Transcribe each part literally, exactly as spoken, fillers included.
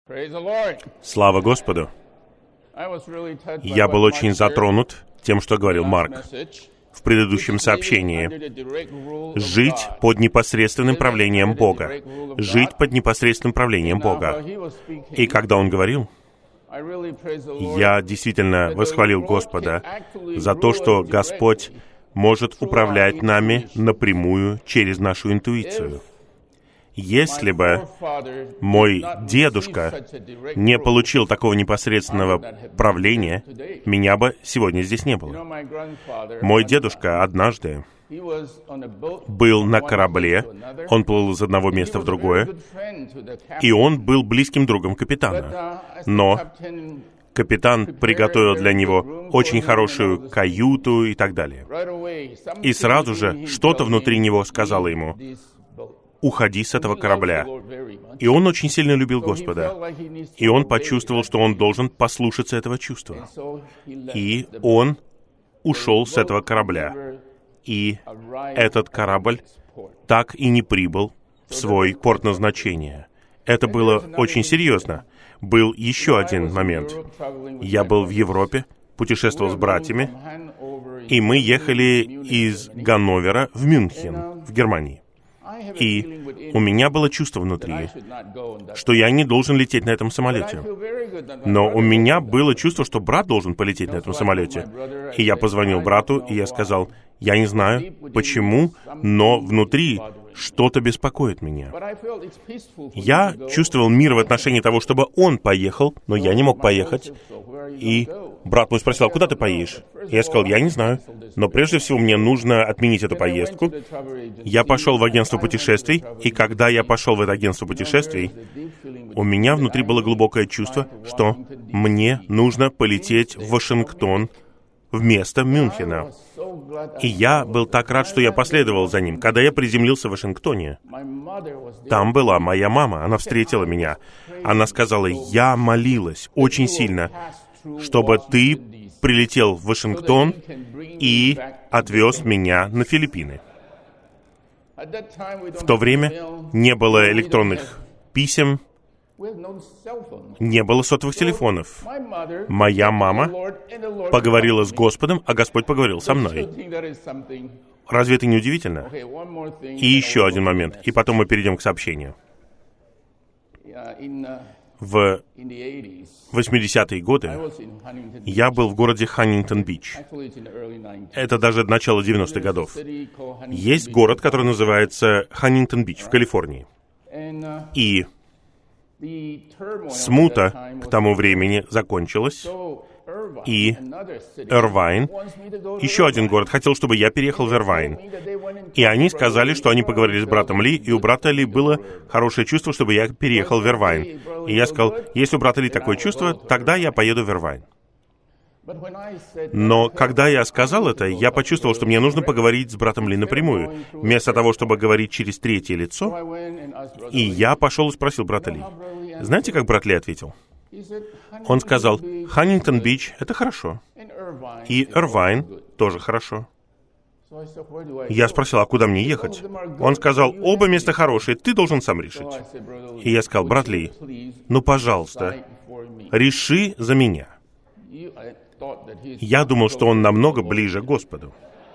Слава Господу! Я был очень затронут тем, что говорил Марк в предыдущем сообщении. Жить под непосредственным правлением Бога. Жить под непосредственным правлением Бога. И когда он говорил, я действительно восхвалил Господа за то, что Господь может управлять нами напрямую через нашу интуицию. Если бы мой дедушка не получил такого непосредственного правления, меня бы сегодня здесь не было. Мой дедушка однажды был на корабле, он плыл из одного места в другое, и он был близким другом капитана. Но капитан приготовил для него очень хорошую каюту и так далее. И сразу же что-то внутри него сказало ему: уходи с этого корабля. И он очень сильно любил Господа. И он почувствовал, что он должен послушаться этого чувства. И он ушел с этого корабля. И этот корабль так и не прибыл в свой порт назначения. Это было очень серьезно. Был еще один момент. Я был в Европе, путешествовал с братьями, и мы ехали из Ганновера в Мюнхен, в Германии. И у меня было чувство внутри, что я не должен лететь на этом самолете. Но у меня было чувство, что брат должен полететь на этом самолете. И я позвонил брату, и я сказал: я не знаю, почему, но внутри что-то беспокоит меня. Я чувствовал мир в отношении того, чтобы он поехал, но я не мог поехать. И брат мой спросил: куда ты поедешь? Я сказал: я не знаю. Но прежде всего мне нужно отменить эту поездку. Я пошел в агентство путешествий, и когда я пошел в это агентство путешествий, у меня внутри было глубокое чувство, что мне нужно полететь в Вашингтон вместо Мюнхена. И я был так рад, что я последовал за ним. Когда я приземлился в Вашингтоне, там была моя мама, она встретила меня. Она сказала: я молилась очень сильно, чтобы ты прилетел в Вашингтон и отвез меня на Филиппины. В то время не было электронных писем, не было сотовых телефонов. Моя мама поговорила с Господом, а Господь поговорил со мной. Разве это не удивительно? И еще один момент, и потом мы перейдем к сообщению. В восьмидесятые годы я был в городе Ханнингтон-Бич. Это даже начало девяностых годов. Есть город, который называется Ханнингтон-Бич в Калифорнии. И смута к тому времени закончилась, и Ирвайн, еще один город, хотел, чтобы я переехал в Ирвайн. И они сказали, что они поговорили с братом Ли, и у брата Ли было хорошее чувство, чтобы я переехал в Ирвайн. И я сказал: если у брата Ли такое чувство, тогда я поеду в Ирвайн. Но когда я сказал это, я почувствовал, что мне нужно поговорить с братом Ли напрямую, вместо того, чтобы говорить через третье лицо. И я пошел и спросил брата Ли. Знаете, как брат Ли ответил? Он сказал: Ханнингтон-Бич — это хорошо. И Ирвайн тоже хорошо. Я спросил: а куда мне ехать? Он сказал: оба места хорошие, ты должен сам решить. И я сказал: брат Ли, ну, пожалуйста, реши за меня. Я думал, что он намного ближе к Господу.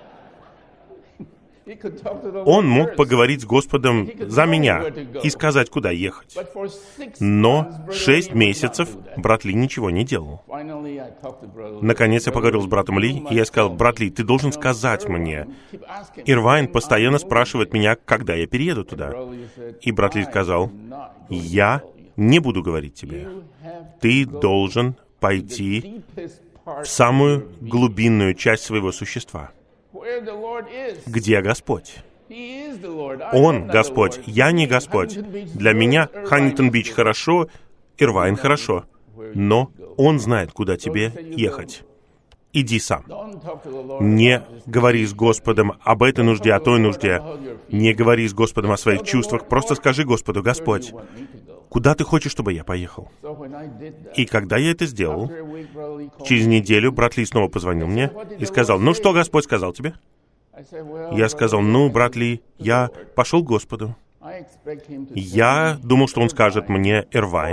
Он мог поговорить с Господом за меня и сказать, куда ехать. Но шесть месяцев брат Ли ничего не делал. Наконец я поговорил с братом Ли, и я сказал: брат Ли, ты должен сказать мне. Ирвайн постоянно спрашивает меня, когда я перееду туда. И брат Ли сказал: я не буду говорить тебе. Ты должен пойти в самую глубинную часть своего существа. Где Господь? Он Господь, я не Господь. Для меня Ханнингтон-Бич хорошо, Ирвайн хорошо, но Он знает, куда тебе ехать. Иди сам. Не говори с Господом об этой нужде, о той нужде. Не говори с Господом о своих чувствах. Просто скажи Господу: Господь, куда ты хочешь, чтобы я поехал? И когда я это сделал, через неделю брат Ли снова позвонил мне и сказал: ну что Господь сказал тебе? Я сказал: ну, брат Ли, я пошел к Господу. Я думал, что он скажет мне Ирвайн,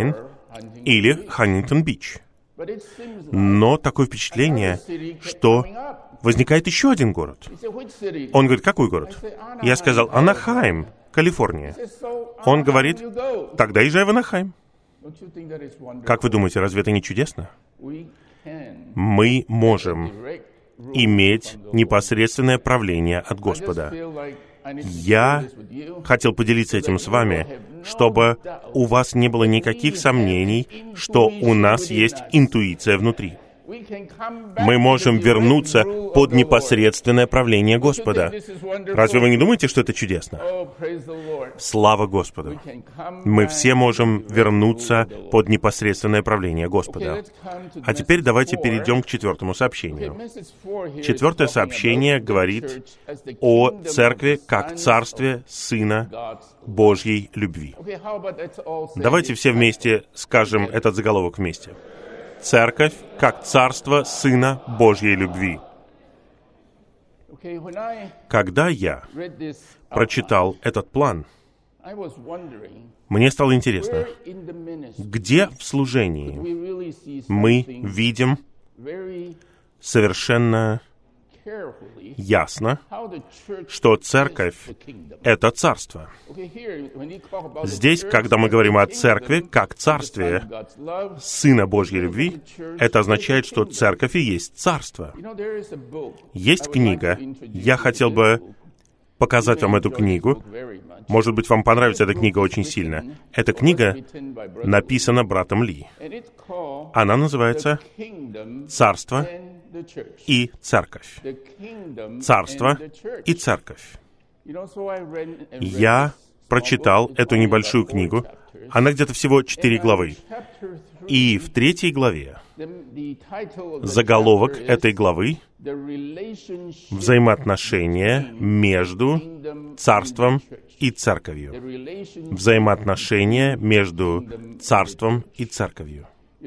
или Хантингтон-Бич. Но такое впечатление, что возникает еще один город. Он говорит, какой город? Я сказал, Анахайм, Калифорния. Он говорит, тогда езжай в Анахайм. Как вы думаете, разве это не чудесно? Мы можем иметь непосредственное правление от Господа. Я хотел поделиться этим с вами, чтобы у вас не было никаких сомнений, что у нас есть интуиция внутри. Мы можем вернуться под непосредственное правление Господа. Разве вы не думаете, что это чудесно? Слава Господу! Мы все можем вернуться под непосредственное правление Господа. А теперь давайте перейдем к четвертому сообщению. Четвертое сообщение говорит о церкви как царстве Сына Божьей любви. Давайте все вместе скажем этот заголовок вместе. Церковь как царство Сына Божьей любви. Когда я прочитал этот план, мне стало интересно, где в служении мы видим совершенно ясно, что церковь — это царство. Здесь, когда мы говорим о церкви как царстве Сына Божьей любви, это означает, что церковь и есть царство. Есть книга. Я хотел бы показать вам эту книгу. Может быть, вам понравится эта книга очень сильно. Эта книга написана братом Ли. Она называется «Царство и церковь». Царство и церковь. Я прочитал эту небольшую книгу. Она где-то всего четыре главы. И в третьей главе заголовок этой главы — взаимоотношения между царством и церковью. Взаимоотношения между царством и церковью.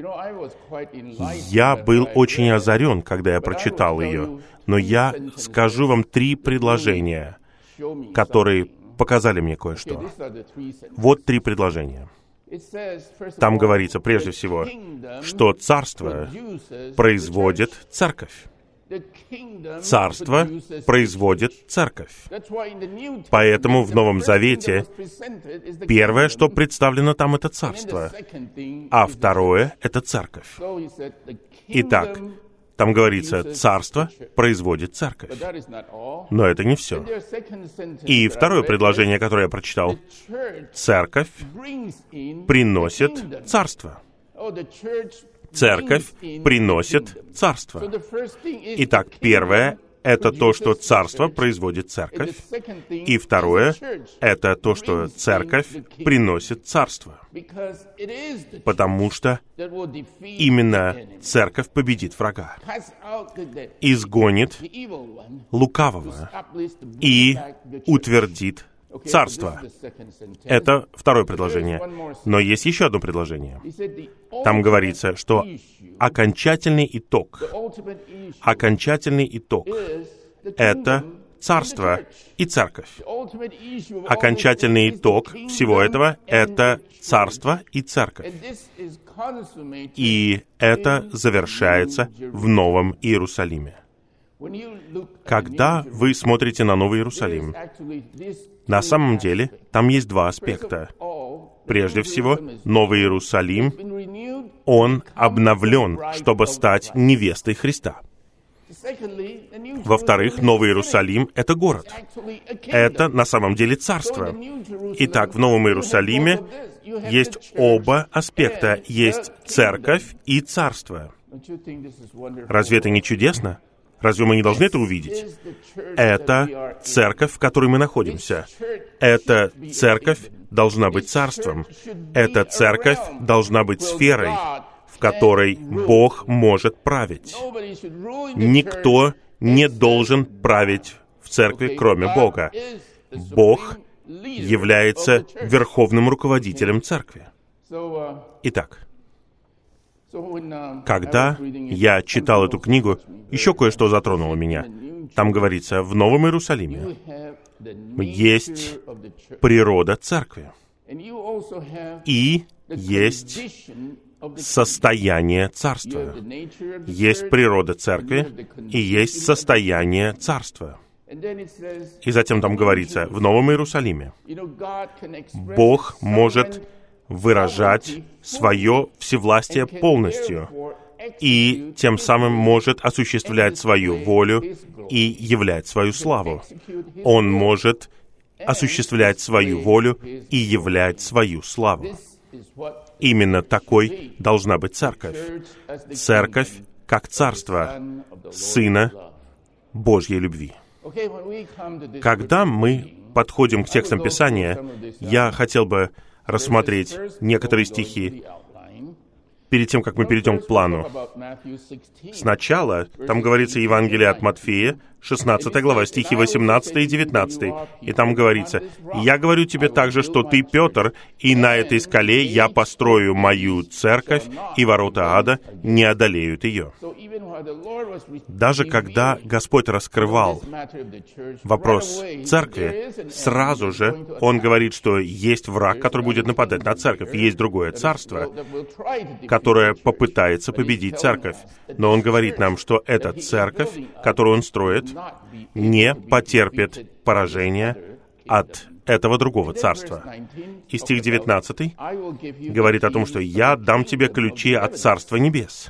Я был очень озарен, когда я прочитал ее, но я скажу вам три предложения, которые показали мне кое-что. Вот три предложения. Там говорится, прежде всего, что царство производит церковь. Царство производит церковь. Поэтому в Новом Завете первое, что представлено там, это царство, а второе — это церковь. Итак, там говорится, царство производит церковь. Но это не все. И второе предложение, которое я прочитал, церковь приносит царство. Церковь приносит царство. Итак, первое — это то, что царство производит церковь. И второе — это то, что церковь приносит царство. Потому что именно церковь победит врага, изгонит лукавого и утвердит царство. Это второе предложение. Но есть еще одно предложение. Там говорится, что окончательный итог, окончательный итог — это царство и церковь. Окончательный итог всего этого — это царство и церковь. И это завершается в Новом Иерусалиме. Когда вы смотрите на Новый Иерусалим, на самом деле там есть два аспекта. Прежде всего, Новый Иерусалим, он обновлен, чтобы стать невестой Христа. Во-вторых, Новый Иерусалим — это город. Это на самом деле царство. Итак, в Новом Иерусалиме есть оба аспекта. Есть церковь и царство. Разве это не чудесно? Разве мы не должны это увидеть? Это церковь, в которой мы находимся. Эта церковь должна быть царством. Эта церковь должна быть сферой, в которой Бог может править. Никто не должен править в церкви, кроме Бога. Бог является верховным руководителем церкви. Итак, когда я читал эту книгу, еще кое-что затронуло меня. Там говорится, в Новом Иерусалиме есть природа церкви. И есть состояние царства. Есть природа церкви и есть состояние царства. И затем там говорится, в Новом Иерусалиме Бог может выражать свое всевластие полностью и тем самым может осуществлять свою волю и являть свою славу. Он может осуществлять свою волю и являть свою славу. Именно такой должна быть церковь. Церковь как царство Сына Божьей любви. Когда мы подходим к текстам Писания, я хотел бы рассмотреть некоторые стихи перед тем, как мы перейдем к плану. Сначала там говорится Евангелие от Матфея, шестнадцатая глава, стихи восемнадцатый и девятнадцатый. И там говорится, «Я говорю тебе также, что ты Петр, и на этой скале я построю мою церковь, и ворота ада не одолеют ее». Даже когда Господь раскрывал вопрос церкви, сразу же Он говорит, что есть враг, который будет нападать на церковь, есть другое царство, которое попытается победить церковь. Но Он говорит нам, что эта церковь, которую Он строит, не потерпит поражения от этого другого царства. И стих девятнадцатый говорит о том, что «Я дам тебе ключи от Царства Небес».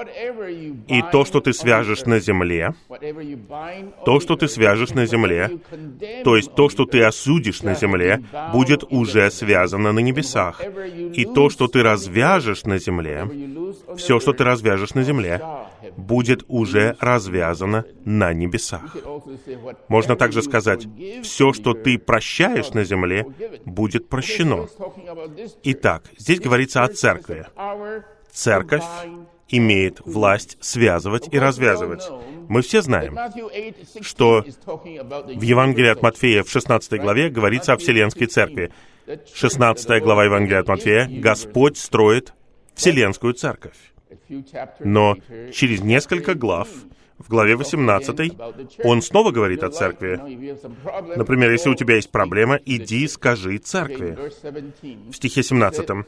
И то, что ты свяжешь на земле, то, что ты свяжешь на земле, то есть то, что ты осудишь на земле, будет уже связано на небесах. И то, что ты развяжешь на земле, все, что ты развяжешь на земле, будет уже развязано на небесах. Можно также сказать, все, что ты прощаешь на земле, будет прощено. Итак, здесь говорится о церкви. Церковь имеет власть связывать и развязывать. Мы все знаем, что в Евангелии от Матфея в шестнадцатой главе говорится о Вселенской Церкви. шестнадцатая глава Евангелия от Матфея, Господь строит Вселенскую Церковь. Но через несколько глав, в главе восемнадцатой, Он снова говорит о церкви. Например, если у тебя есть проблема, иди скажи церкви. В стихе семнадцатом.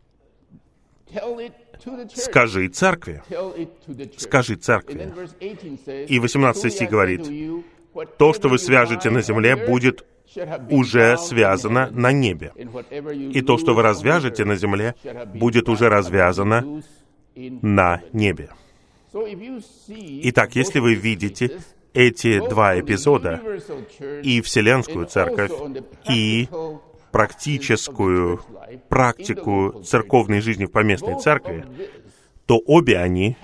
Скажи церкви. Скажи церкви. И восемнадцатый стих говорит, то, что вы свяжете на земле, будет уже связано на небе. И то, что вы развяжете на земле, будет уже развязано на небе. Итак, если вы видите эти два эпизода, и Вселенскую Церковь, и практическую практику церковной жизни в поместной церкви, то обе они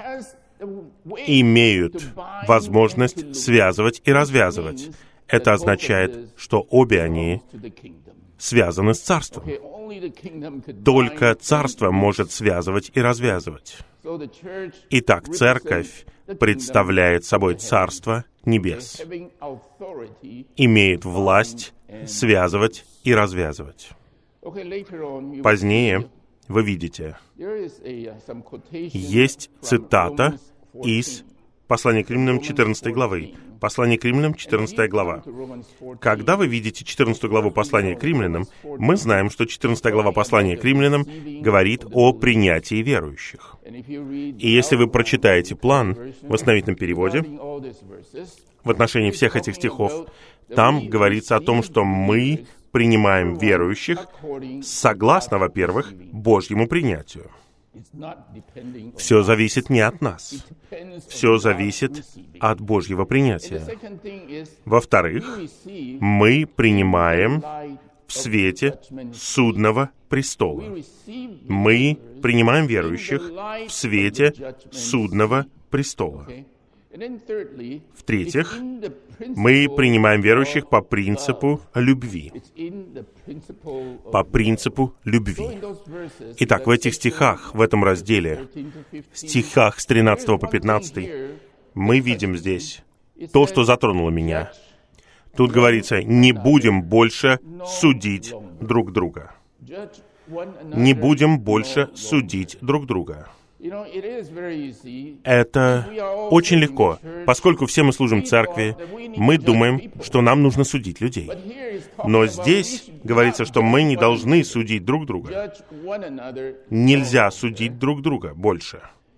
имеют возможность связывать и развязывать. Это означает, что обе они связаны с Царством. Только Царство может связывать и развязывать. Итак, Церковь представляет собой Царство Небес, имеет власть связывать и развязывать. Позднее вы видите, есть цитата из Послания к Римлянам четырнадцатой главы. Послание к Римлянам, четырнадцатая глава. Когда вы видите четырнадцатую главу Послания к Римлянам, мы знаем, что четырнадцатая глава Послания к Римлянам говорит о принятии верующих. И если вы прочитаете план в основательном переводе, в отношении всех этих стихов, там говорится о том, что мы принимаем верующих согласно, во-первых, Божьему принятию. Все зависит не от нас. Все зависит от Божьего принятия. Во-вторых, мы принимаем в свете судного престола. Мы принимаем верующих в свете судного престола. В-третьих, мы принимаем верующих по принципу любви. По принципу любви. Итак, в этих стихах, в этом разделе, стихах с тринадцатого по пятнадцатый, мы видим здесь то, что затронуло меня. Тут говорится, не будем больше судить друг друга. Не будем больше судить друг друга. Это очень легко. Поскольку все мы служим церкви, мы думаем, что нам нужно судить людей. Но здесь говорится, что мы не должны судить друг друга. Нельзя судить друг друга больше.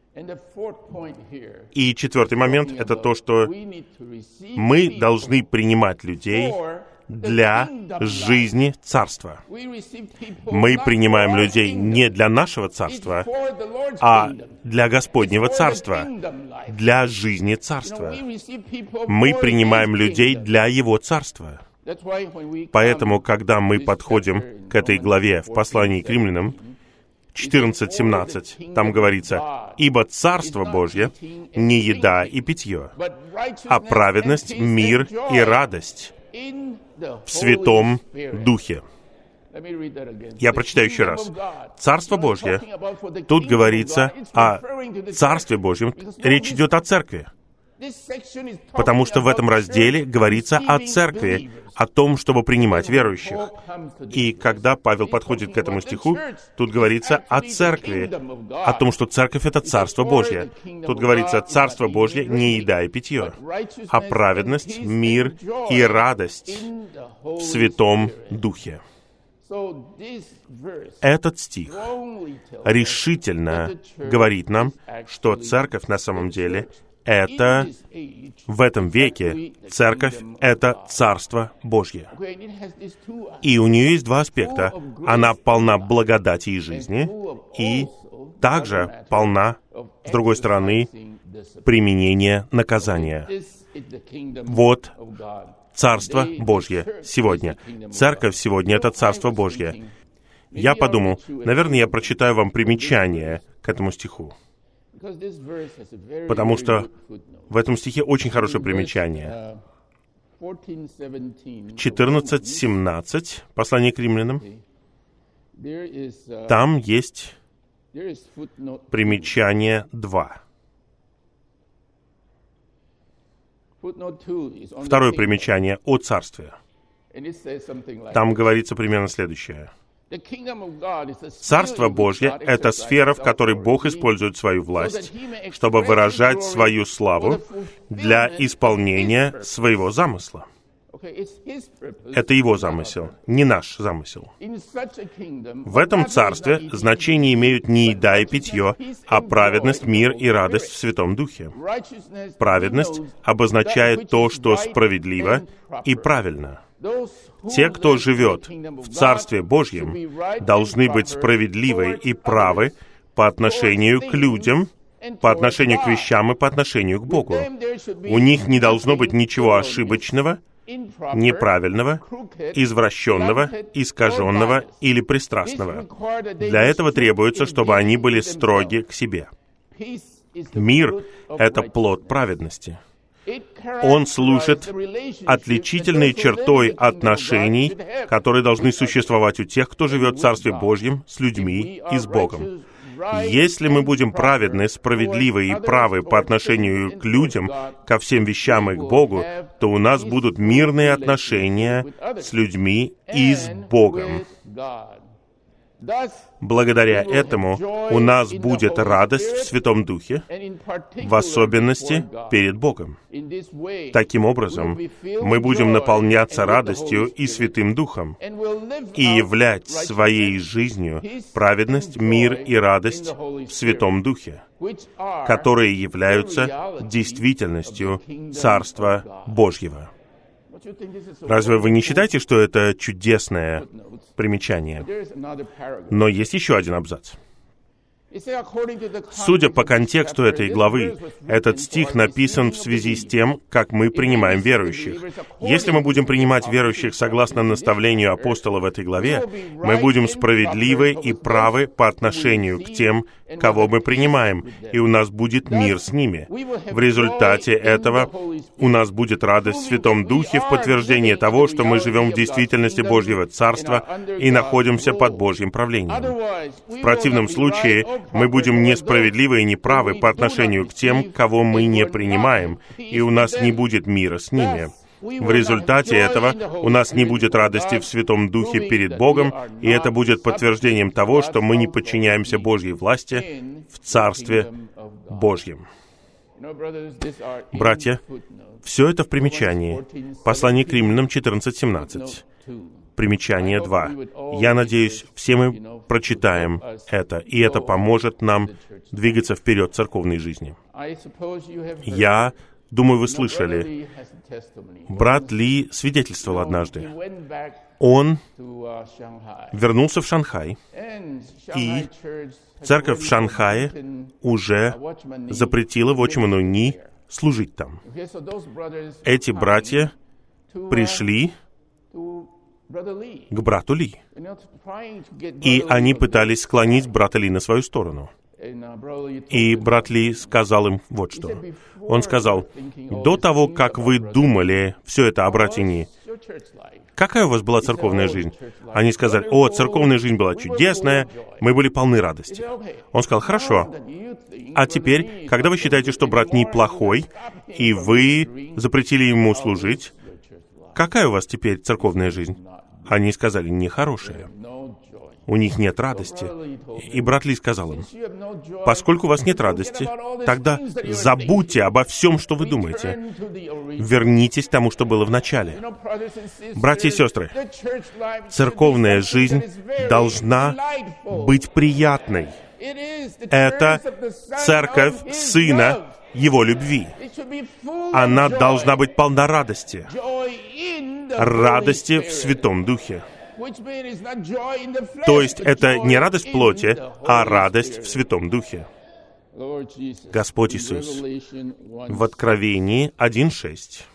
И четвертый момент — это то, что мы должны принимать людей для жизни Царства. Мы принимаем людей не для нашего Царства, а для Господнего Царства, для жизни Царства. Мы принимаем людей для Его Царства. Поэтому, когда мы подходим к этой главе в послании к римлянам, четырнадцать семнадцать, там говорится: «Ибо Царство Божье не еда и питье, а праведность, мир и радость в Святом Духе». Я прочитаю еще раз. Царство Божье. Тут говорится о Царстве Божьем. Речь идет о Церкви. Потому что в этом разделе говорится о Церкви, о том, чтобы принимать верующих. И когда Павел подходит к этому стиху, тут говорится о Церкви, о том, что Церковь — это Царство Божье. Тут говорится: «Царство Божье не еда и питье, а праведность, мир и радость в Святом Духе». Этот стих решительно говорит нам, что Церковь на самом деле — это в этом веке Церковь — это Царство Божье. И у нее есть два аспекта. Она полна благодати и жизни, и также полна, с другой стороны, применения наказания. Вот Царство Божье сегодня. Церковь сегодня — это Царство Божье. Я подумал, наверное, я прочитаю вам примечание к этому стиху. Потому что в этом стихе очень хорошее примечание. четырнадцать семнадцать, послание к римлянам. Там есть примечание два. Второе примечание о Царстве. Там говорится примерно следующее. Царство Божье — это сфера, в которой Бог использует свою власть, чтобы выражать свою славу для исполнения своего замысла. Это Его замысел, не наш замысел. В этом царстве значение имеют не еда и питье, а праведность, мир и радость в Святом Духе. Праведность обозначает то, что справедливо и правильно. Те, кто живет в Царстве Божьем, должны быть справедливы и правы по отношению к людям, по отношению к вещам и по отношению к Богу. У них не должно быть ничего ошибочного, неправильного, извращенного, искаженного или пристрастного. Для этого требуется, чтобы они были строги к себе. Мир — это плод праведности. Он служит отличительной чертой отношений, которые должны существовать у тех, кто живет в Царстве Божьем с людьми и с Богом. Если мы будем праведны, справедливы и правы по отношению к людям, ко всем вещам и к Богу, то у нас будут мирные отношения с людьми и с Богом. Благодаря этому у нас будет радость в Святом Духе, в особенности перед Богом. Таким образом, мы будем наполняться радостью и Святым Духом и являть своей жизнью праведность, мир и радость в Святом Духе, которые являются действительностью Царства Божьего. Разве вы не считаете, что это чудесное примечание? Но есть еще один абзац. Судя по контексту этой главы, этот стих написан в связи с тем, как мы принимаем верующих. Если мы будем принимать верующих согласно наставлению апостола в этой главе, мы будем справедливы и правы по отношению к тем, кого мы принимаем, и у нас будет мир с ними. В результате этого у нас будет радость в Святом Духе в подтверждение того, что мы живем в действительности Божьего Царства и находимся под Божьим правлением. В противном случае мы будем несправедливы и неправы по отношению к тем, кого мы не принимаем, и у нас не будет мира с ними. В результате этого у нас не будет радости в Святом Духе перед Богом, и это будет подтверждением того, что мы не подчиняемся Божьей власти в Царстве Божьем. Братья, все это в примечании. Послание к Римлянам четырнадцать семнадцать. Примечание два. Я надеюсь, все мы прочитаем это, и это поможет нам двигаться вперед в церковной жизни. Я думаю, вы слышали, брат Ли свидетельствовал однажды. Он вернулся в Шанхай, и церковь в Шанхае уже запретила Watchman Nee служить там. Эти братья пришли к брату Ли, и они пытались склонить брата Ли на свою сторону. И брат Ли сказал им вот что. Он сказал: «До того, как вы думали все это о брате Ни, какая у вас была церковная жизнь?» Они сказали: «О, церковная жизнь была чудесная, мы были полны радости». Он сказал: «Хорошо. А теперь, когда вы считаете, что брат Ни плохой, и вы запретили ему служить, какая у вас теперь церковная жизнь?» Они сказали: «Нехорошая. У них нет радости». И брат Ли сказал им: «Поскольку у вас нет радости, тогда забудьте обо всем, что вы думаете. Вернитесь к тому, что было в начале». Братья и сестры, церковная жизнь должна быть приятной. Это церковь Сына Его любви. Она должна быть полна радости. Радости в Святом Духе. То есть это не радость плоти, а радость в Святом Духе. Господь Иисус в Откровении один шесть.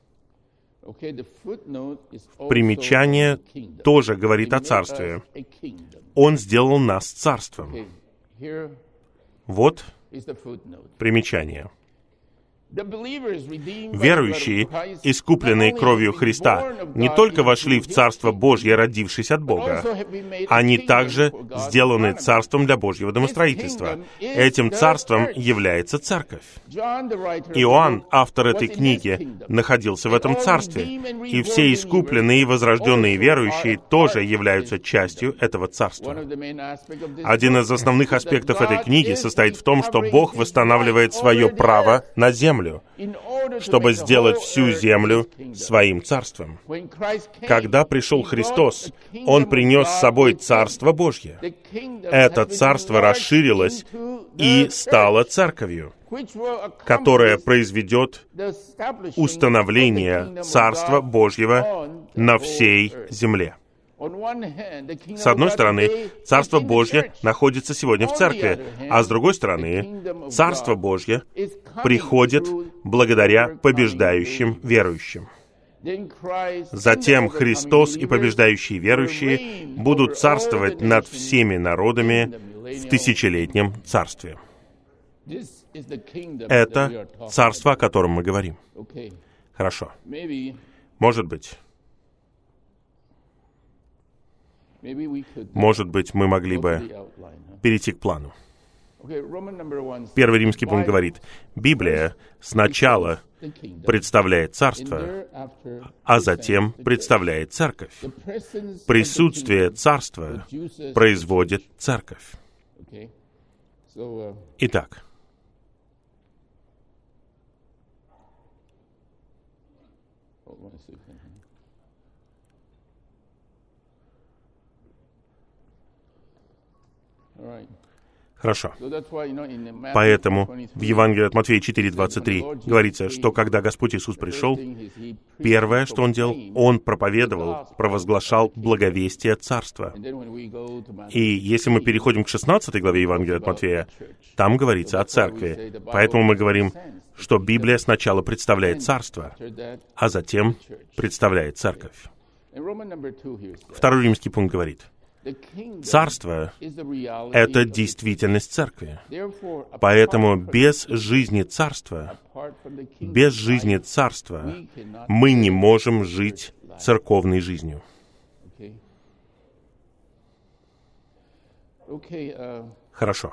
Примечание тоже говорит о Царстве. Он сделал нас Царством. Вот примечание. Верующие, искупленные кровью Христа, не только вошли в Царство Божье, родившись от Бога, они также сделаны Царством для Божьего домостроительства. Этим Царством является Церковь. Иоанн, автор этой книги, находился в этом Царстве, и все искупленные и возрожденные верующие тоже являются частью этого Царства. Один из основных аспектов этой книги состоит в том, что Бог восстанавливает свое право на землю, чтобы сделать всю землю своим царством. Когда пришел Христос, Он принес с собой Царство Божье. Это Царство расширилось и стало Церковью, которая произведет установление Царства Божьего на всей земле. С одной стороны, Царство Божье находится сегодня в церкви, а с другой стороны, Царство Божье приходит благодаря побеждающим верующим. Затем Христос и побеждающие верующие будут царствовать над всеми народами в тысячелетнем царстве. Это царство, о котором мы говорим. Хорошо. Может быть, Может быть, мы могли бы перейти к плану. Первый римский пункт говорит: Библия сначала представляет царство, а затем представляет церковь. Присутствие царства производит церковь. Итак, хорошо. Поэтому в Евангелии от Матфея четыре двадцать три говорится, что когда Господь Иисус пришел, первое, что Он делал, Он проповедовал, провозглашал благовестие Царства. И если мы переходим к шестнадцатой главе Евангелия от Матфея, там говорится о Церкви. Поэтому мы говорим, что Библия сначала представляет Царство, а затем представляет Церковь. Второй римский пункт говорит: Царство — это действительность Церкви. Поэтому без жизни Царства, без жизни Царства мы не можем жить церковной жизнью. Хорошо.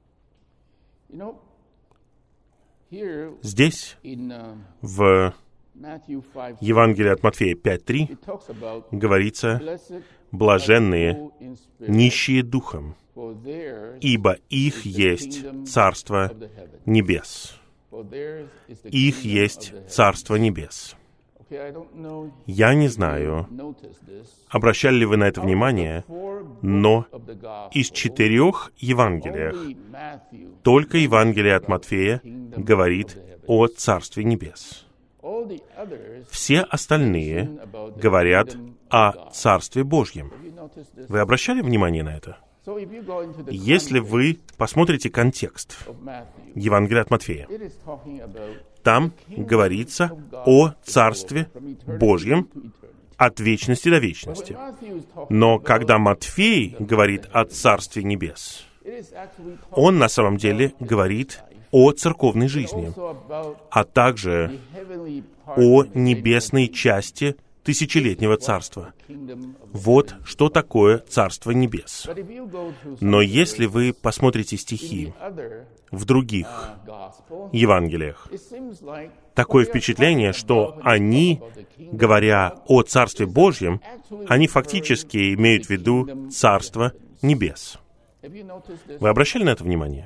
Здесь, в Евангелие от Матфея пять три говорится: «Блаженные, нищие духом, ибо их есть Царство Небес». Их есть Царство Небес. Я не знаю, обращали ли вы на это внимание, но из четырех Евангелиях только Евангелие от Матфея говорит о Царстве Небес. Все остальные говорят о Царстве Божьем. Вы обращали внимание на это? Если вы посмотрите контекст Евангелия от Матфея, там говорится о Царстве Божьем от вечности до вечности. Но когда Матфей говорит о Царстве Небес, он на самом деле говорит о церковной жизни, а также о небесной части тысячелетнего царства. Вот что такое Царство Небес. Но если вы посмотрите стихи в других Евангелиях, такое впечатление, что они, говоря о Царстве Божьем, они фактически имеют в виду Царство Небес. Вы обращали на это внимание?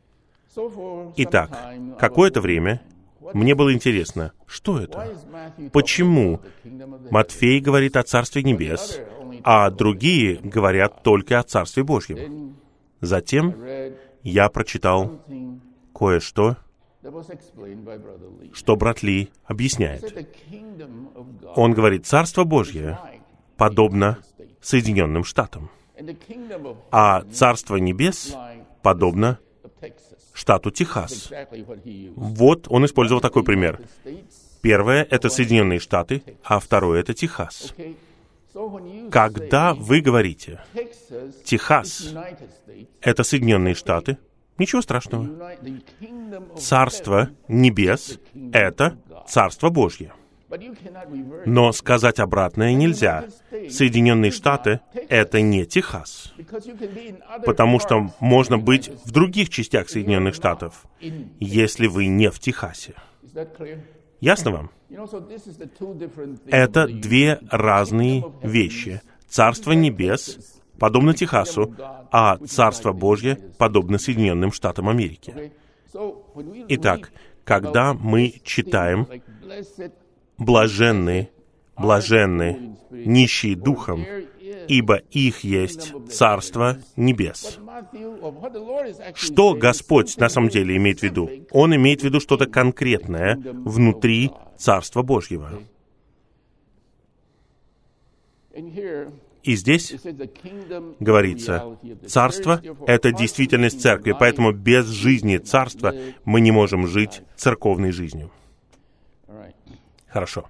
Итак, какое-то время мне было интересно, что это? Почему Матфей говорит о Царстве Небес, а другие говорят только о Царстве Божьем? Затем я прочитал кое-что, что брат Ли объясняет. Он говорит: Царство Божье подобно Соединенным Штатам, а Царство Небес подобно штату Техас. Вот он использовал такой пример. Первое — это Соединенные Штаты, а второе — это Техас. Когда вы говорите «Техас» — это Соединенные Штаты, ничего страшного. Царство Небес — это Царство Божье. Но сказать обратное нельзя. Соединенные Штаты — это не Техас. Потому что можно быть в других частях Соединенных Штатов, если вы не в Техасе. Ясно вам? Это две разные вещи. Царство Небес подобно Техасу, а Царство Божье подобно Соединенным Штатам Америки. Итак, когда мы читаем «Блаженны, блаженны, нищие духом, ибо их есть Царство Небес». Что Господь на самом деле имеет в виду? Он имеет в виду что-то конкретное внутри Царства Божьего. И здесь говорится, царство — это действительность церкви, поэтому без жизни царства мы не можем жить церковной жизнью. Хорошо.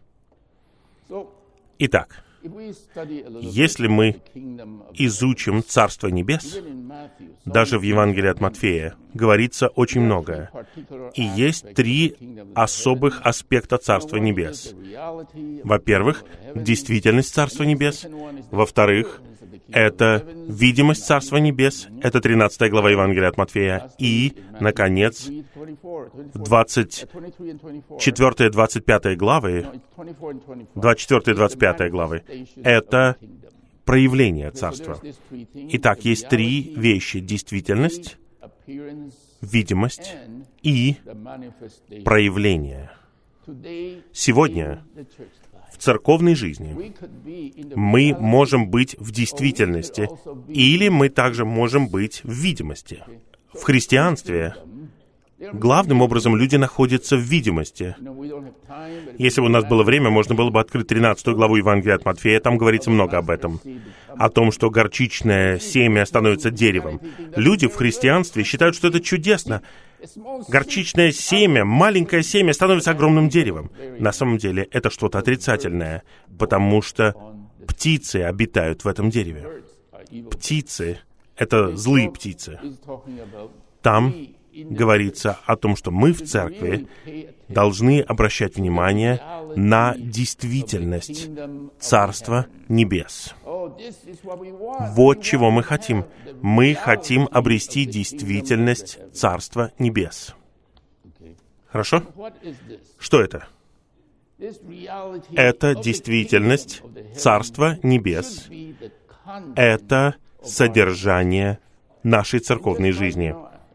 Итак, если мы изучим Царство Небес, даже в Евангелии от Матфея говорится очень многое. И есть три особых аспекта Царства Небес. Во-первых, действительность Царства Небес. Во-вторых, это видимость Царства Небес. Это тринадцатая глава Евангелия от Матфея. И, наконец, двадцать четвёртая двадцать пятая главы, двадцать четвёртая двадцать пятая главы, это проявление Царства. Итак, есть три вещи: действительность, видимость и проявление. Сегодня в церковной жизни мы можем быть в действительности, или мы также можем быть в видимости. В христианстве главным образом люди находятся в видимости. Если бы у нас было время, можно было бы открыть тринадцатую главу Евангелия от Матфея, там говорится много об этом. О том, что горчичное семя становится деревом. Люди в христианстве считают, что это чудесно. Горчичное семя, маленькое семя, становится огромным деревом. На самом деле, это что-то отрицательное, потому что птицы обитают в этом дереве. Птицы — это злые птицы. Там говорится о том, что мы в церкви должны обращать внимание на действительность Царства Небес. Вот чего мы хотим. Мы хотим обрести действительность Царства Небес. Хорошо? Что это? Это действительность Царства Небес. Это содержание нашей церковной жизни.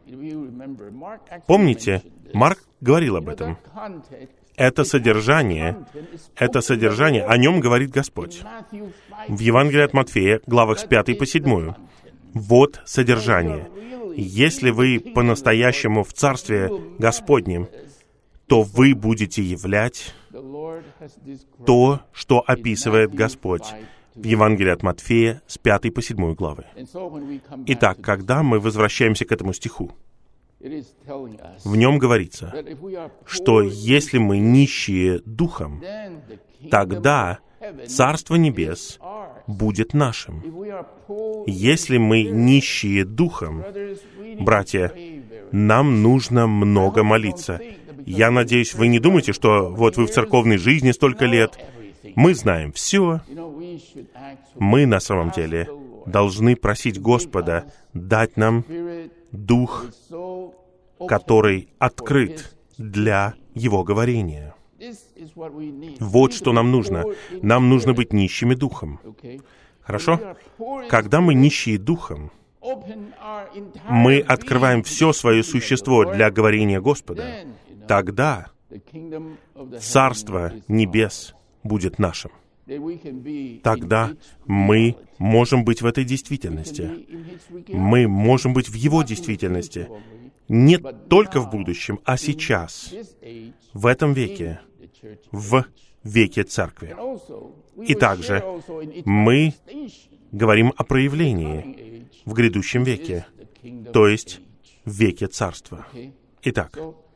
Помните, Марк говорил об этом. Это содержание, это содержание, о нем говорит Господь. В Евангелии от Матфея, главах с пятой по седьмую. Вот содержание. Если вы по-настоящему в Царстве Господнем, то вы будете являть то, что описывает Господь в Евангелии от Матфея с пятой по седьмую главы. Итак, когда мы возвращаемся к этому стиху, в нем говорится, что если мы нищие духом, тогда Царство Небес будет нашим. Если мы нищие духом, братья, нам нужно много молиться. Я надеюсь, вы не думаете, что вот вы в церковной жизни столько лет, мы знаем все. Мы на самом деле должны просить Господа дать нам дух, который открыт для Его говорения. Вот что нам нужно. Нам нужно быть нищими духом. Хорошо? Когда мы нищие духом, мы открываем все свое существо для говорения Господа, тогда Царство Небес будет нашим. Тогда мы можем быть в этой действительности. Мы можем быть в Его действительности. Не только в будущем, а сейчас, в этом веке, в веке Церкви. И также мы говорим о проявлении в грядущем веке, то есть в веке Царства. Итак,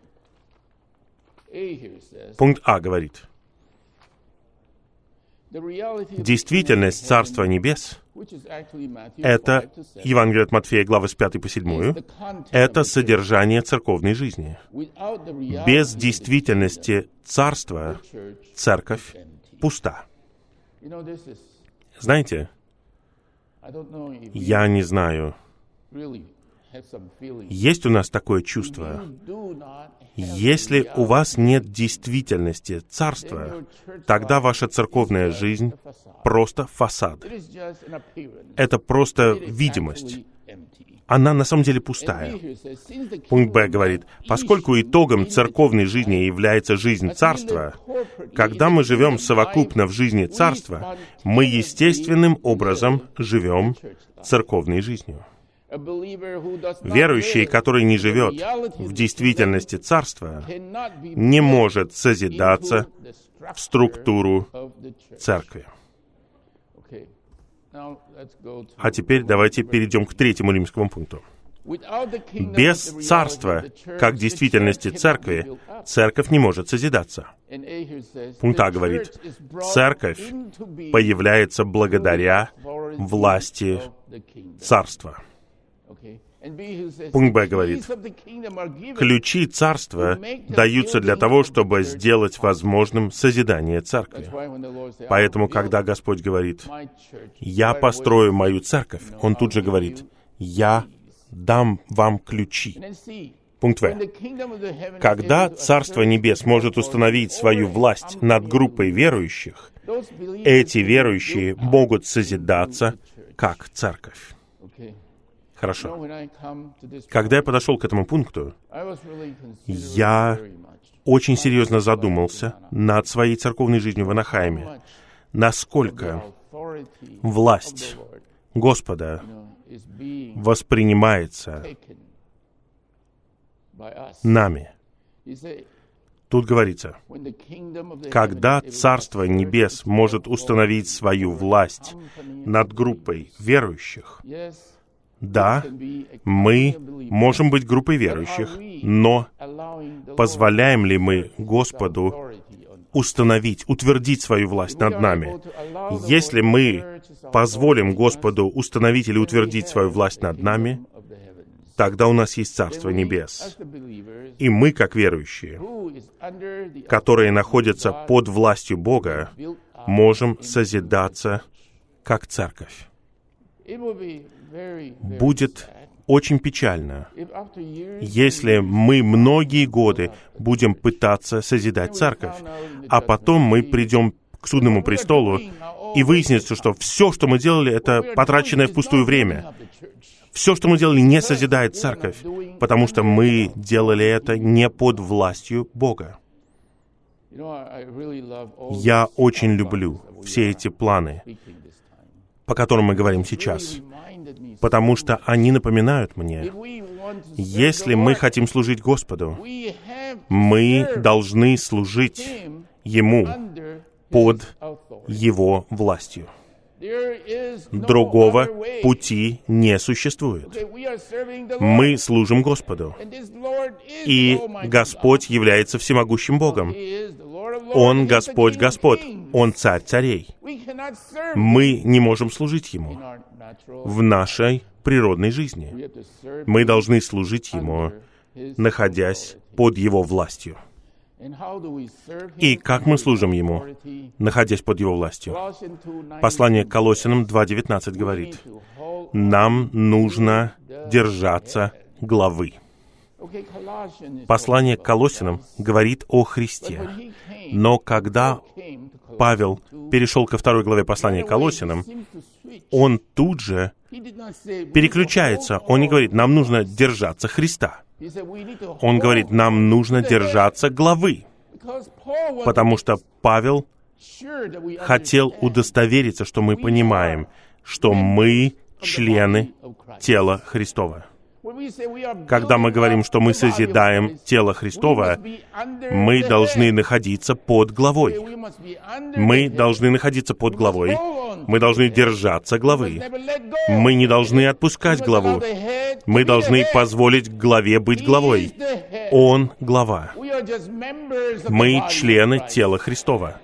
пункт А говорит, действительность Царства Небес — это Евангелие от Матфея, главы с пятой по седьмую, это содержание церковной жизни. Без действительности Царства Церковь пуста. Знаете, я не знаю, есть у нас такое чувство. Если у вас нет действительности Царства, тогда ваша церковная жизнь просто фасад. Это просто видимость. Она на самом деле пустая. Пункт Б говорит, поскольку итогом церковной жизни является жизнь Царства, когда мы живем совокупно в жизни Царства, мы естественным образом живем церковной жизнью. Верующий, который не живет в действительности Царства, не может созидаться в структуру Церкви. А теперь давайте перейдем к третьему римскому пункту. Без Царства, как действительности Церкви, Церковь не может созидаться. Пункт А говорит, Церковь появляется благодаря власти Царства. Пункт Б говорит, ключи Царства даются для того, чтобы сделать возможным созидание Церкви. Поэтому, когда Господь говорит, «Я построю мою церковь», Он тут же говорит, «Я дам вам ключи». Пункт В. Когда Царство Небес может установить свою власть над группой верующих, эти верующие могут созидаться как церковь. Хорошо. Когда я подошел к этому пункту, я очень серьезно задумался над своей церковной жизнью в Анахайме. Насколько власть Господа воспринимается нами. Тут говорится, когда Царство Небес может установить свою власть над группой верующих, да, мы можем быть группой верующих, но позволяем ли мы Господу установить, утвердить свою власть над нами? Если мы позволим Господу установить или утвердить свою власть над нами, тогда у нас есть Царство Небес. И мы, как верующие, которые находятся под властью Бога, можем созидаться как церковь. Будет очень печально, если мы многие годы будем пытаться созидать церковь, а потом мы придем к судному престолу, и выяснится, что все, что мы делали, это потраченное впустую время. Все, что мы делали, не созидает церковь, потому что мы делали это не под властью Бога. Я очень люблю все эти планы, по которым мы говорим сейчас, потому что они напоминают мне, если мы хотим служить Господу, мы должны служить Ему под Его властью. Другого пути не существует. Мы служим Господу, и Господь является всемогущим Богом. Он Господь Господь, Он Царь царей. Мы не можем служить Ему в нашей природной жизни. Мы должны служить Ему, находясь под Его властью. И как мы служим Ему, находясь под Его властью? Послание к Колоссянам два девятнадцать говорит, нам нужно держаться главы. Послание к Колоссянам говорит о Христе. Но когда Павел перешел ко второй главе послания к Колоссянам, он тут же переключается. Он не говорит, нам нужно держаться Христа. Он говорит, нам нужно держаться главы, потому что Павел хотел удостовериться, что мы понимаем, что мы члены тела Христова. Когда мы говорим, что мы созидаем тело Христово, мы должны находиться под главой. Мы должны находиться под главой. Мы должны держаться главы. Мы не должны отпускать главу. Мы должны позволить главе быть главой. Он глава. Мы члены тела Христова.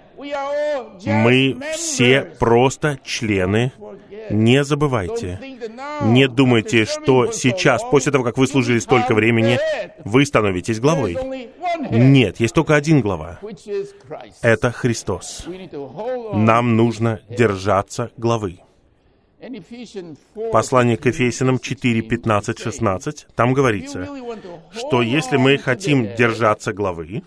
Мы все просто члены. Не забывайте. Не думайте, что сейчас, после того, как вы служили столько времени, вы становитесь главой. Нет, есть только один глава. Это Христос. Нам нужно держаться главы. Послание к Ефесянам четыре, пятнадцать, шестнадцать, там говорится, что если мы хотим держаться главы,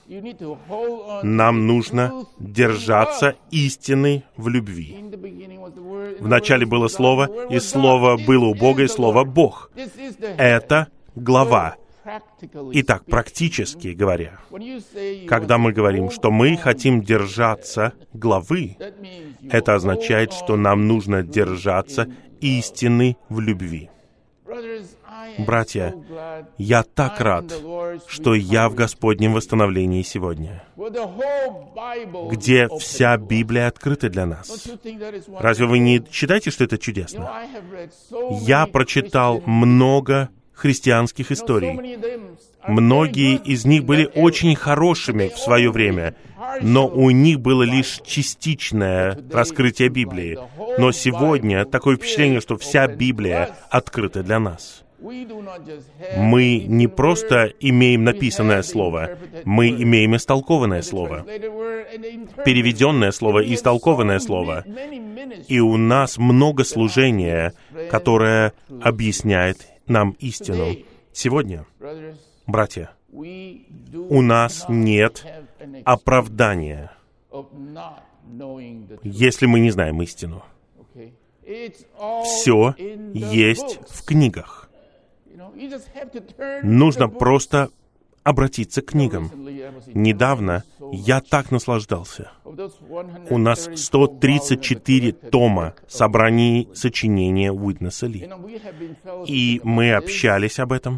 нам нужно держаться истины в любви. Вначале было Слово, и Слово было у Бога, и Слово Бог. Это глава. Итак, практически говоря, когда мы говорим, что мы хотим держаться главы, это означает, что нам нужно держаться истины в любви. Братья, я так рад, что я в Господнем восстановлении сегодня, где вся Библия открыта для нас. Разве вы не считаете, что это чудесно? Я прочитал много христианских историй. Многие из них были очень хорошими в свое время, но у них было лишь частичное раскрытие Библии. Но сегодня такое впечатление, что вся Библия открыта для нас. Мы не просто имеем написанное слово, мы имеем истолкованное слово, переведенное слово и истолкованное слово. И у нас много служения, которое объясняет нам истину. Сегодня, братья, у нас нет оправдания, если мы не знаем истину. Все есть в книгах. Нужно просто обратиться к книгам. Недавно я так наслаждался. У нас сто тридцать четыре тома собраний сочинения Уитнеса Ли. И мы общались об этом.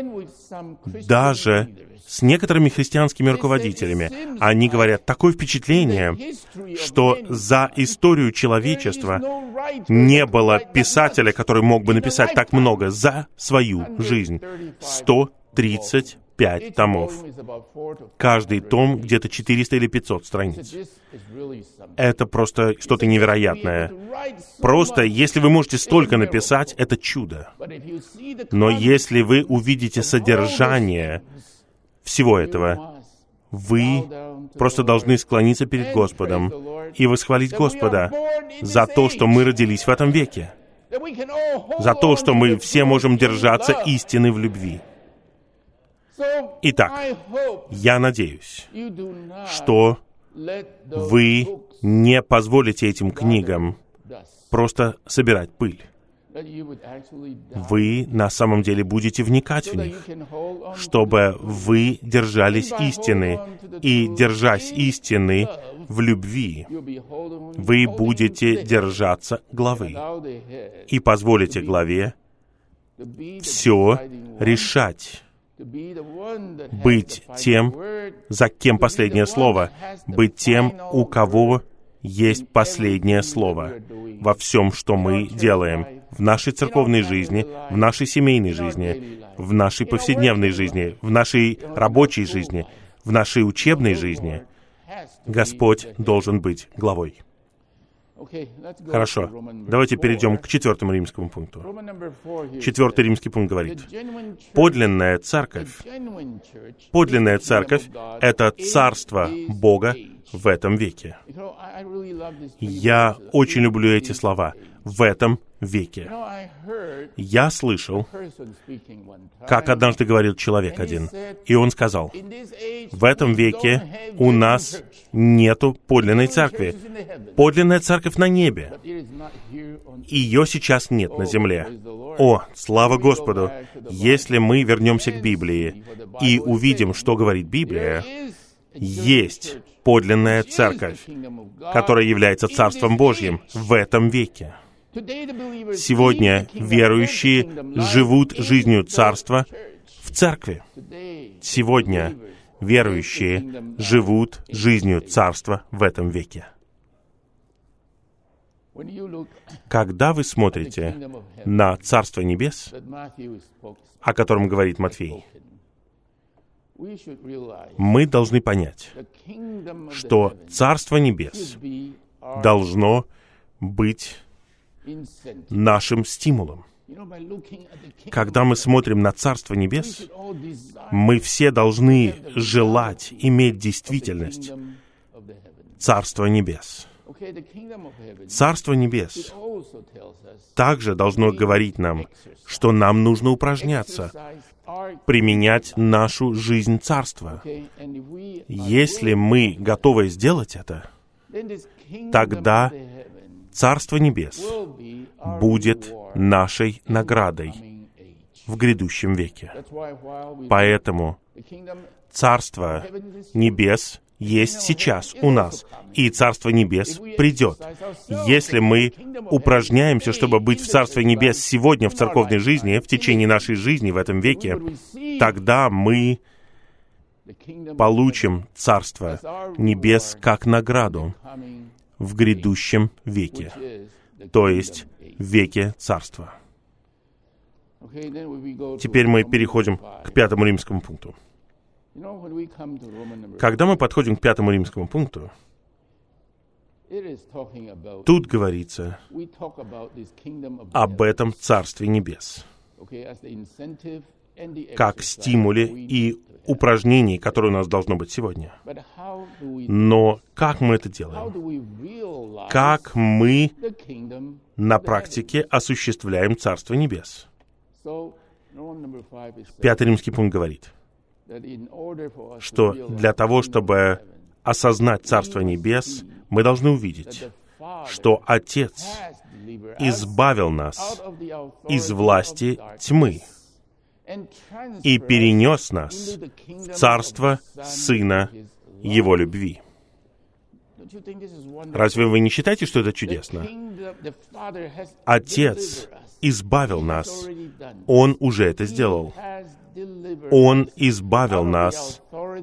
Даже с некоторыми христианскими руководителями. Они говорят, такое впечатление, что за историю человечества не было писателя, который мог бы написать так много за свою жизнь. сто тридцать пять томов. Каждый том где-то четыреста или пятьсот страниц. Это просто что-то невероятное. Просто, если вы можете столько написать, это чудо. Но если вы увидите содержание всего этого, вы просто должны склониться перед Господом и восхвалить Господа за то, что мы родились в этом веке. за то, что мы все можем держаться истины в любви. Итак, я надеюсь, что вы не позволите этим книгам просто собирать пыль. Вы на самом деле будете вникать в них, чтобы вы держались истины, и, держась истины в любви, вы будете держаться главы и позволите главе все решать, быть тем, за кем последнее слово, быть тем, у кого есть последнее слово во всем, что мы делаем, в нашей церковной жизни, в нашей семейной жизни, в нашей повседневной жизни, в нашей рабочей жизни, в нашей учебной жизни. Господь должен быть главой. Хорошо. Давайте перейдем к четвертому римскому пункту. Четвертый римский пункт говорит: подлинная церковь, подлинная церковь — это царство Бога в этом веке. Я очень люблю эти слова. В этом веке. Я слышал, как однажды говорил человек один, и он сказал: в этом веке у нас нету подлинной церкви. Подлинная церковь на небе. Ее сейчас нет на земле. О, слава Господу! Если мы вернемся к Библии и увидим, что говорит Библия, есть подлинная церковь, которая является Царством Божьим в этом веке. Сегодня верующие живут жизнью Царства в церкви. Сегодня верующие живут жизнью Царства в этом веке. Когда вы смотрите на Царство Небес, о котором говорит Матфей, мы должны понять, что Царство Небес должно быть нашим стимулом. Когда мы смотрим на Царство Небес, мы все должны желать иметь действительность Царства Небес. Царство Небес также должно говорить нам, что нам нужно упражняться, применять нашу жизнь Царства. Если мы готовы сделать это, тогда Царство Небес будет нашей наградой в грядущем веке. Поэтому Царство Небес есть сейчас у нас, и Царство Небес придет. Если мы упражняемся, чтобы быть в Царстве Небес сегодня в церковной жизни, в течение нашей жизни в этом веке, тогда мы получим Царство Небес как награду в грядущем веке, то есть в веке Царства. Теперь мы переходим к пятому римскому пункту. Когда мы подходим к пятому римскому пункту, тут говорится об этом Царстве Небес, как стимуле и упражнении, которое у нас должно быть сегодня. Но как мы это делаем? Как мы на практике осуществляем Царство Небес? Пятый римский пункт говорит, что для того, чтобы осознать Царство Небес, мы должны увидеть, что Отец избавил нас из власти тьмы и перенес нас в Царство Сына Его любви. Разве вы не считаете, что это чудесно? Отец избавил нас. Он уже это сделал. Он избавил нас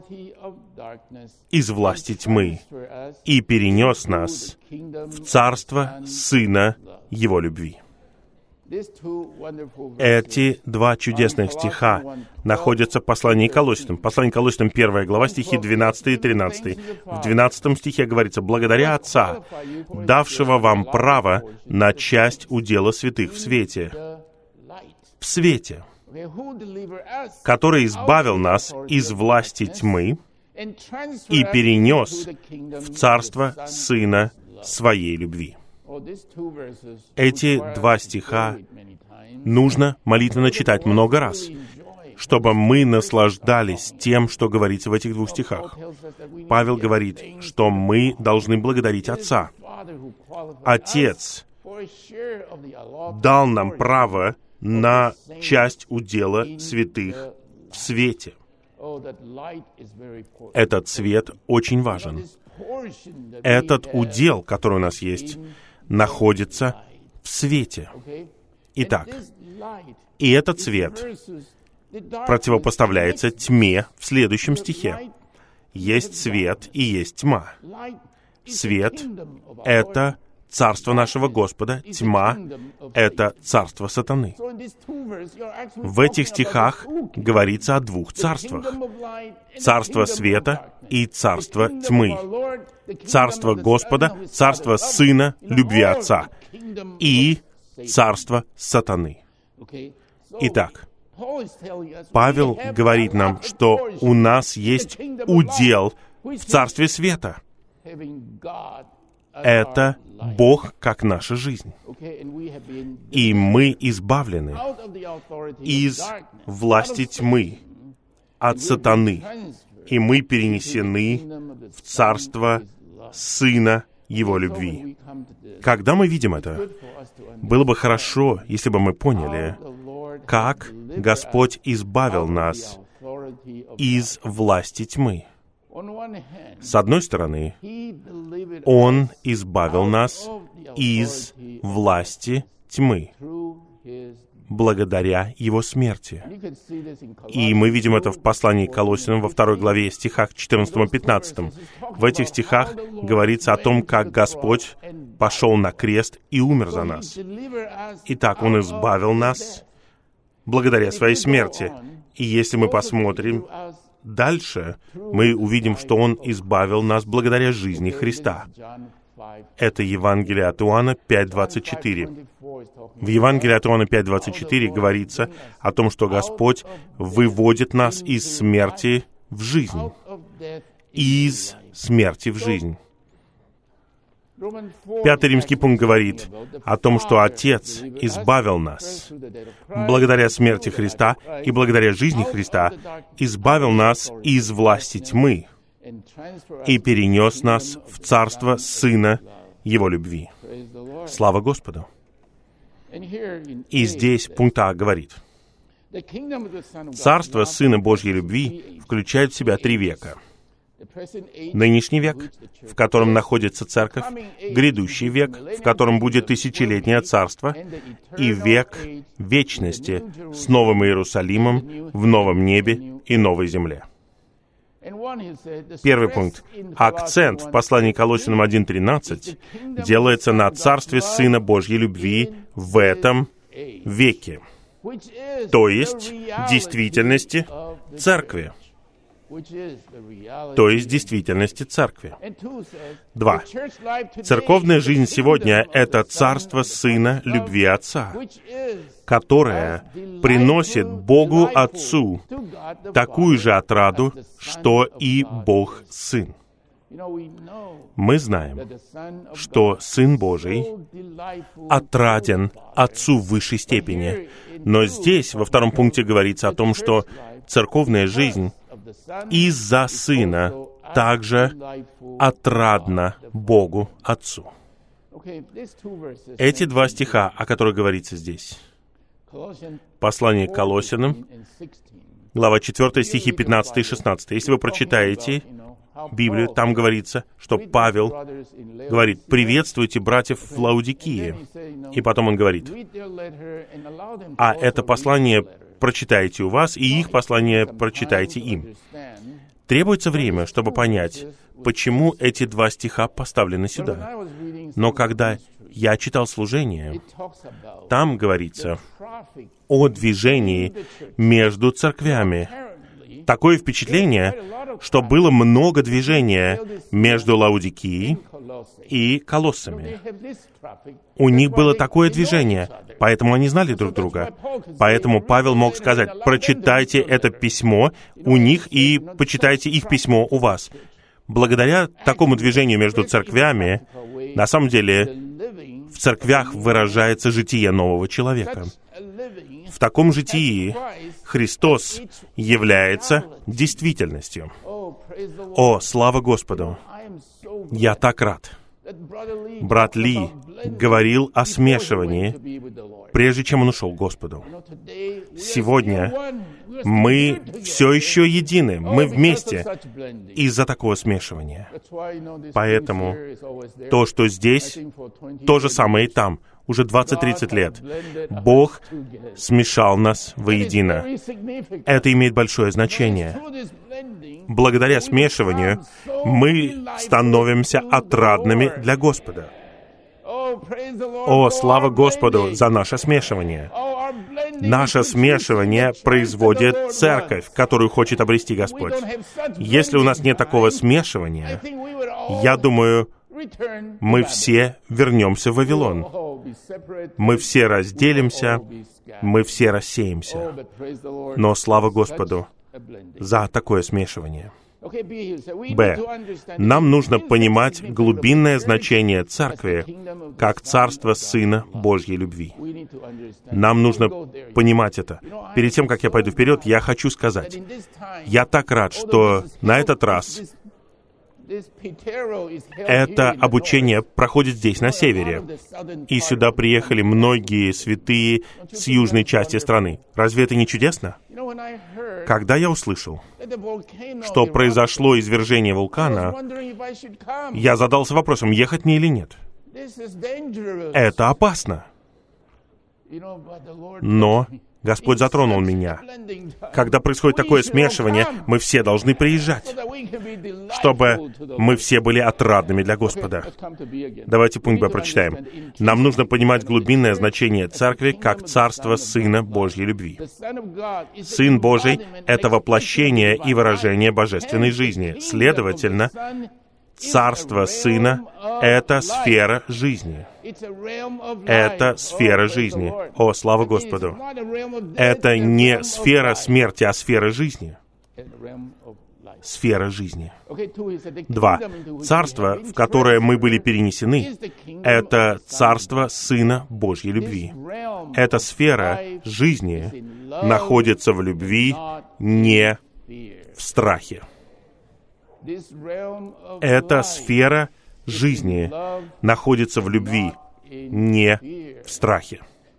из власти тьмы и перенес нас в Царство Сына Его любви. Эти два чудесных стиха находятся в послании к Колоссянам. Послание к Колоссянам, первая глава, стихи двенадцатый и тринадцатый. В двенадцатом стихе говорится: «Благодаря Отца, давшего вам право на часть удела святых в свете». В свете, который избавил нас из власти тьмы и перенес в Царство Сына Своей любви. Эти два стиха нужно молитвенно читать много раз, чтобы мы наслаждались тем, что говорится в этих двух стихах. Павел говорит, что мы должны благодарить Отца. Отец дал нам право на часть удела святых в свете. Этот свет очень важен. Этот удел, который у нас есть, находится в свете. Итак, и этот свет противопоставляется тьме в следующем стихе. Есть свет и есть тьма. Свет — это царство нашего Господа, тьма — это царство сатаны. В этих стихах говорится о двух царствах. Царство света и царство тьмы. Царство Господа, царство Сына, любви Отца. И царство сатаны. Итак, Павел говорит нам, что у нас есть удел в царстве света. Это Бог как наша жизнь. И мы избавлены из власти тьмы, от сатаны. И мы перенесены в царство Сына Его любви. Когда мы видим это, было бы хорошо, если бы мы поняли, как Господь избавил нас из власти тьмы. С одной стороны, Он избавил нас из власти тьмы благодаря Его смерти. И мы видим это в послании к Колоссянам во второй главе, стихах четырнадцатом и пятнадцатом. В этих стихах говорится о том, как Господь пошел на крест и умер за нас. Итак, Он избавил нас благодаря Своей смерти. И если мы посмотрим дальше, мы увидим, что Он избавил нас благодаря жизни Христа. Это Евангелие от Иоанна пять двадцать четыре. В Евангелии от Иоанна пять двадцать четыре говорится о том, что Господь выводит нас из смерти в жизнь. Из смерти в жизнь. Пятый римский пункт говорит о том, что Отец избавил нас благодаря смерти Христа и благодаря жизни Христа, избавил нас из власти тьмы и перенес нас в царство Сына Его любви. Слава Господу! И здесь пункт А говорит: царство Сына Божьей любви включает в себя три века. Нынешний век, в котором находится церковь, грядущий век, в котором будет тысячелетнее царство, и век вечности с Новым Иерусалимом в новом небе и новой земле. Первый пункт. Акцент в послании к Колоссянам один тринадцать делается на царстве Сына Божьей любви в этом веке, то есть действительности церкви. То есть действительности церкви. Два. Церковная жизнь сегодня — это царство Сына любви Отца, которое приносит Богу Отцу такую же отраду, что и Бог Сын. Мы знаем, что Сын Божий отраден Отцу в высшей степени. Но здесь, во втором пункте, говорится о том, что церковная жизнь из-за Сына также отрадна Богу Отцу. Эти два стиха, о которых говорится здесь, послание к Колоссянам, глава четвёртая, стихи пятнадцатый и шестнадцатый. Если вы прочитаете Библию, там говорится, что Павел говорит: «Приветствуйте братьев в Лаодикии». И потом он говорит: «А это послание прочитайте у вас, и их послание прочитайте им». Требуется время, чтобы понять, почему эти два стиха поставлены сюда. Но когда я читал служение, там говорится о движении между церквями. Такое впечатление, что было много движения между Лаодикией и Колоссами. У них было такое движение, поэтому они знали друг друга. Поэтому Павел мог сказать: «Прочитайте это письмо у них и почитайте их письмо у вас». Благодаря такому движению между церквями, на самом деле, В церквях выражается житие нового человека. В таком житии Христос является действительностью. О, слава Господу! Я так рад. Брат Ли говорил о смешивании, прежде чем он ушел к Господу. Сегодня мы все еще едины, мы вместе из-за такого смешивания. Поэтому то, что здесь, то же самое и там. Уже двадцать-тридцать лет Бог смешал нас воедино. Это имеет большое значение. Благодаря смешиванию мы становимся отрадными для Господа. О, слава Господу за наше смешивание! Наше смешивание производит церковь, которую хочет обрести Господь. Если у нас нет такого смешивания, я думаю, мы все вернемся в Вавилон. Мы все разделимся, мы все рассеемся. Но слава Господу за такое смешивание. Б. Нам нужно понимать глубинное значение Церкви как Царство Сына Божьей любви. Нам нужно понимать это. Перед тем, как я пойду вперед, я хочу сказать, я так рад, что на этот раз это обучение проходит здесь, на севере. И сюда приехали многие святые с южной части страны. Разве это не чудесно? Когда я услышал, что произошло извержение вулкана, я задался вопросом, ехать мне или нет. Это опасно. Но Господь затронул меня. Когда происходит такое смешивание, мы все должны приезжать, чтобы мы все были отрадными для Господа. Давайте пункт Б прочитаем. Нам нужно понимать глубинное значение Церкви как Царство Сына Божьей любви. Сын Божий — это воплощение и выражение божественной жизни. Следовательно, Царство Сына — это сфера жизни. Это сфера жизни. О, слава Господу! Это не сфера смерти, а сфера жизни. Сфера жизни. Два. Царство, в которое мы были перенесены, это Царство Сына Божьей любви. Эта сфера жизни находится в любви, не в страхе. Эта сфера жизни находится в любви, не в страхе.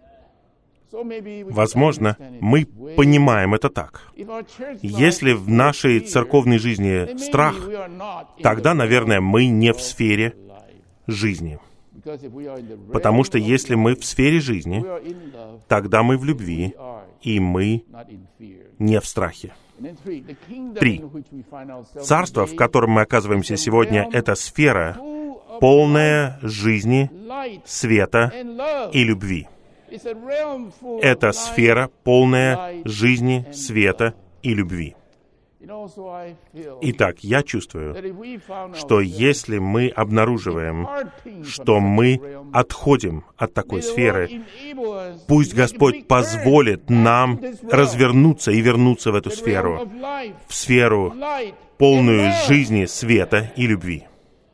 Возможно, мы понимаем это так. Если в нашей церковной жизни страх, тогда, наверное, мы не в сфере жизни. Потому что если мы в сфере жизни, тогда мы в любви, и мы не в страхе. Три. Царство, в котором мы оказываемся сегодня, это сфера, полная жизни, света и любви. Это сфера, полная жизни, света и любви. Итак, я чувствую, что если мы обнаруживаем, что мы отходим от такой сферы, пусть Господь позволит нам развернуться и вернуться в эту сферу, в сферу, полную жизни, света и любви.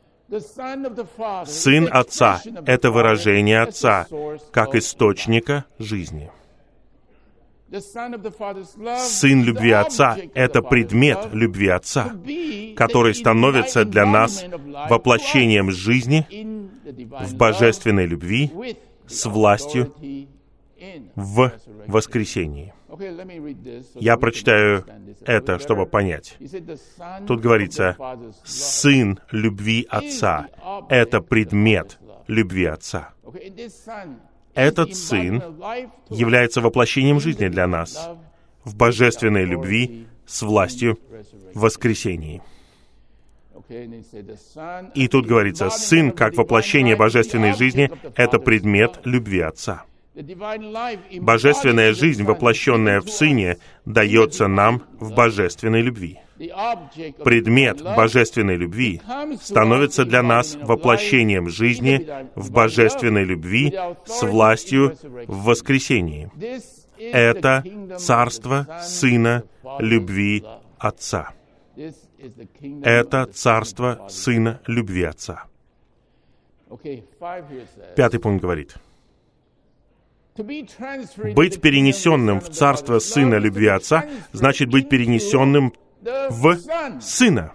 Сын Отца — это выражение Отца, как источника жизни. Сын любви Отца — это предмет любви Отца, который становится для нас воплощением жизни в божественной любви с властью в воскресении. Я прочитаю это, чтобы понять. Тут говорится, Сын любви Отца — это предмет любви Отца. Этот Сын является воплощением жизни для нас в божественной любви с властью в воскресении. И тут говорится, Сын, как воплощение божественной жизни, это предмет любви Отца. Божественная жизнь, воплощенная в Сыне, дается нам в божественной любви. Предмет божественной любви становится для нас воплощением жизни в божественной любви с властью в воскресении. Это Царство Сына любви Отца. Это Царство Сына любви Отца. Пятый пункт говорит: быть перенесенным в царство Сына любви Отца значит быть перенесенным в Сына.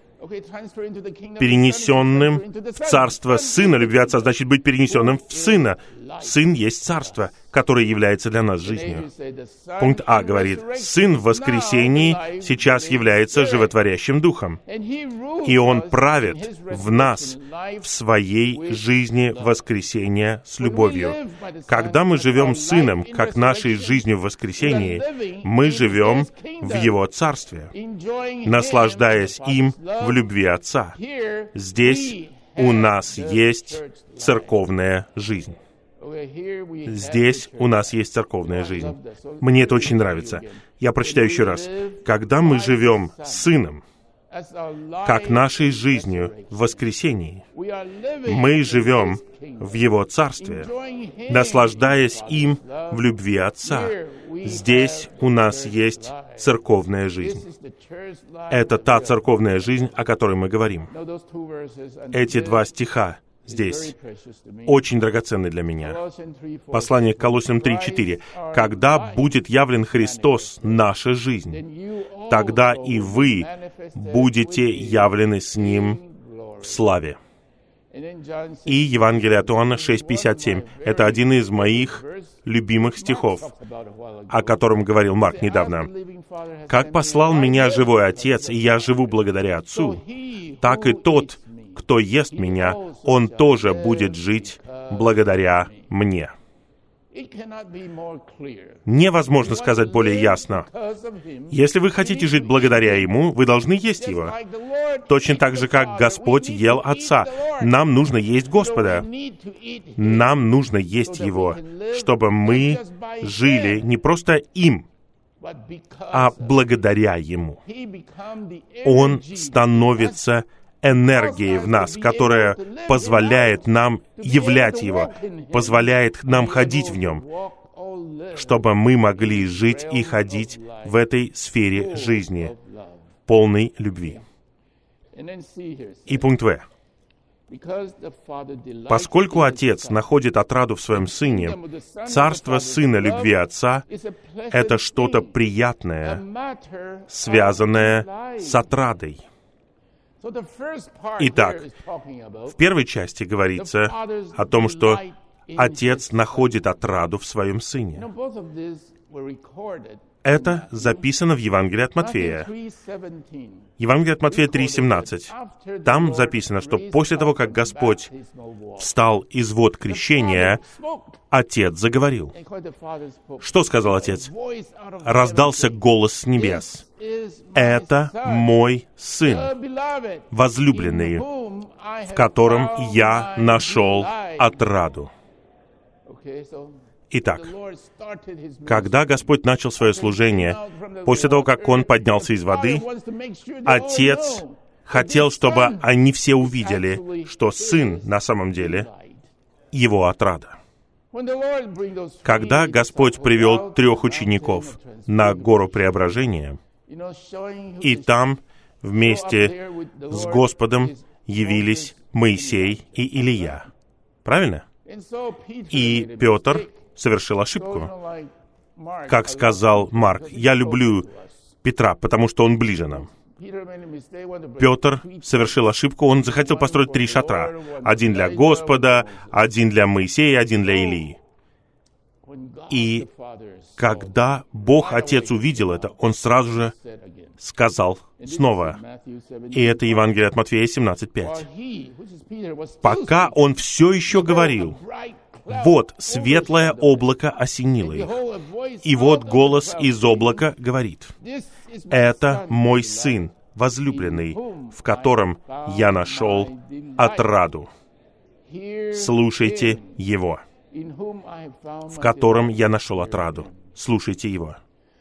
Перенесенным в царство Сына любви Отца значит быть перенесенным в Сына. Сын есть царство, которое является для нас жизнью. Пункт А говорит: Сын в воскресении сейчас является животворящим Духом, и Он правит в нас в своей жизни воскресения с любовью. Когда мы живем Сыном, как нашей жизнью в воскресении, мы живем в Его Царстве, наслаждаясь им в любви Отца. Здесь у нас есть церковная жизнь. Здесь у нас есть церковная жизнь. Мне это очень нравится. Я прочитаю еще раз. Когда мы живем с Сыном, как нашей жизнью в воскресении, мы живем в Его Царстве, наслаждаясь им в любви Отца. Здесь у нас есть церковная жизнь. Это та церковная жизнь, о которой мы говорим. Эти два стиха здесь очень драгоценны для меня. Послание к Колоссянам три четыре. «Когда будет явлен Христос, наша жизнь, тогда и вы будете явлены с Ним в славе». И Евангелие от Иоанна шесть пятьдесят семь. Это один из моих любимых стихов, о котором говорил Марк недавно. «Как послал меня живой Отец, и я живу благодаря Отцу, так и тот, кто ест меня, он тоже будет жить благодаря мне». Невозможно сказать более ясно. Если вы хотите жить благодаря Ему, вы должны есть Его. Точно так же, как Господь ел Отца. Нам нужно есть Господа. Нам нужно есть Его, чтобы мы жили не просто им, а благодаря Ему. Он становится энергией в нас, которая позволяет нам являть Его, позволяет нам ходить в Нем, чтобы мы могли жить и ходить в этой сфере жизни, полной любви. И пункт В. Поскольку Отец находит отраду в Своем Сыне, царство Сына любви Отца — это что-то приятное, связанное с отрадой. Итак, в первой части говорится о том, что Отец находит отраду в Своем Сыне. Это записано в Евангелии от Матфея. Евангелие от Матфея три семнадцать. Там записано, что после того, как Господь встал из вод крещения, Отец заговорил. Что сказал Отец? Раздался голос с небес: «Это мой Сын, возлюбленный, в котором я нашел отраду». Итак, когда Господь начал свое служение, после того, как Он поднялся из воды, Отец хотел, чтобы они все увидели, что Сын на самом деле Его отрада. Когда Господь привел трех учеников на гору Преображения, и там вместе с Господом явились Моисей и Илия. Правильно? И Петр совершил ошибку. Как сказал Марк: «Я люблю Петра, потому что он ближе нам». Петр совершил ошибку, он захотел построить три шатра. Один для Господа, один для Моисея, один для Илии. И когда Бог Отец увидел это, Он сразу же сказал снова. И это Евангелие от Матфея семнадцать пять. Пока Он все еще говорил, вот светлое облако осенило их. И вот голос из облака говорит: «Это мой Сын, возлюбленный, в котором я нашел отраду. Слушайте Его». В котором я нашел отраду. Слушайте Его.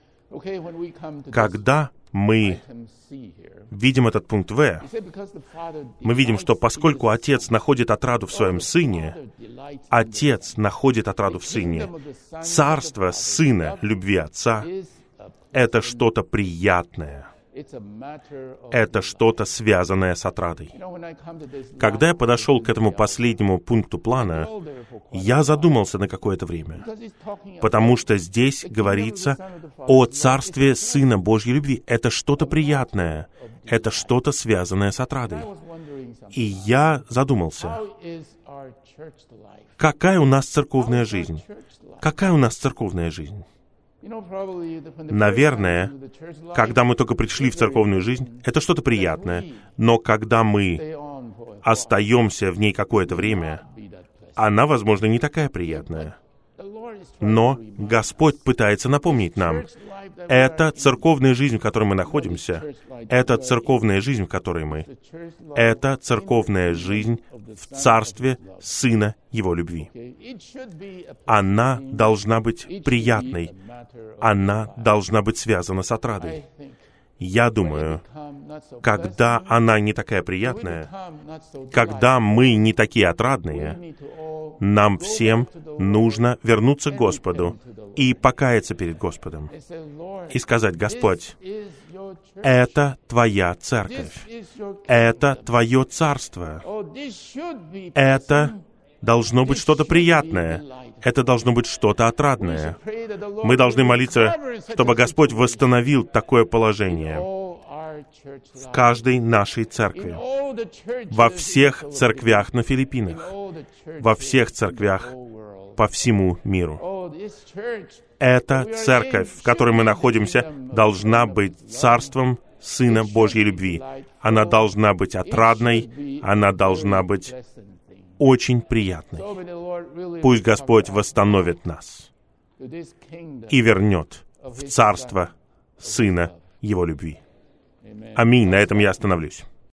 Когда мы видим этот пункт В, мы видим, что поскольку Отец находит отраду в Своем Сыне, Отец находит отраду в Сыне, царство Сына любви Отца — это что-то приятное, Это что-то, связанное с отрадой. Когда я подошел к этому последнему пункту плана, я задумался на какое-то время, потому что здесь говорится о царстве Сына Божьей любви. Это что-то приятное, это что-то, связанное с отрадой. И я задумался, какая у нас церковная жизнь? Какая у нас церковная жизнь? Наверное, когда мы только пришли в церковную жизнь, это что-то приятное. Но когда мы остаемся в ней какое-то время, она, возможно, не такая приятная. Но Господь пытается напомнить нам, это церковная жизнь, в которой мы находимся, это церковная жизнь, в которой мы, это церковная жизнь в царстве Сына Его любви. Она должна быть приятной, она должна быть связана с отрадой. Я думаю, когда она не такая приятная, когда мы не такие отрадные, нам всем нужно вернуться к Господу и покаяться перед Господом и сказать: «Господь, это Твоя церковь, это Твое царство, это должно быть что-то приятное, это должно быть что-то отрадное». Мы должны молиться, чтобы Господь восстановил такое положение в каждой нашей церкви, во всех церквях на Филиппинах, во всех церквях по всему миру. Эта церковь, в которой мы находимся, должна быть царством Сына Божьей любви. Она должна быть отрадной, она должна быть очень приятной. Пусть Господь восстановит нас и вернет в царство Сына Его любви. Аминь. На этом я остановлюсь.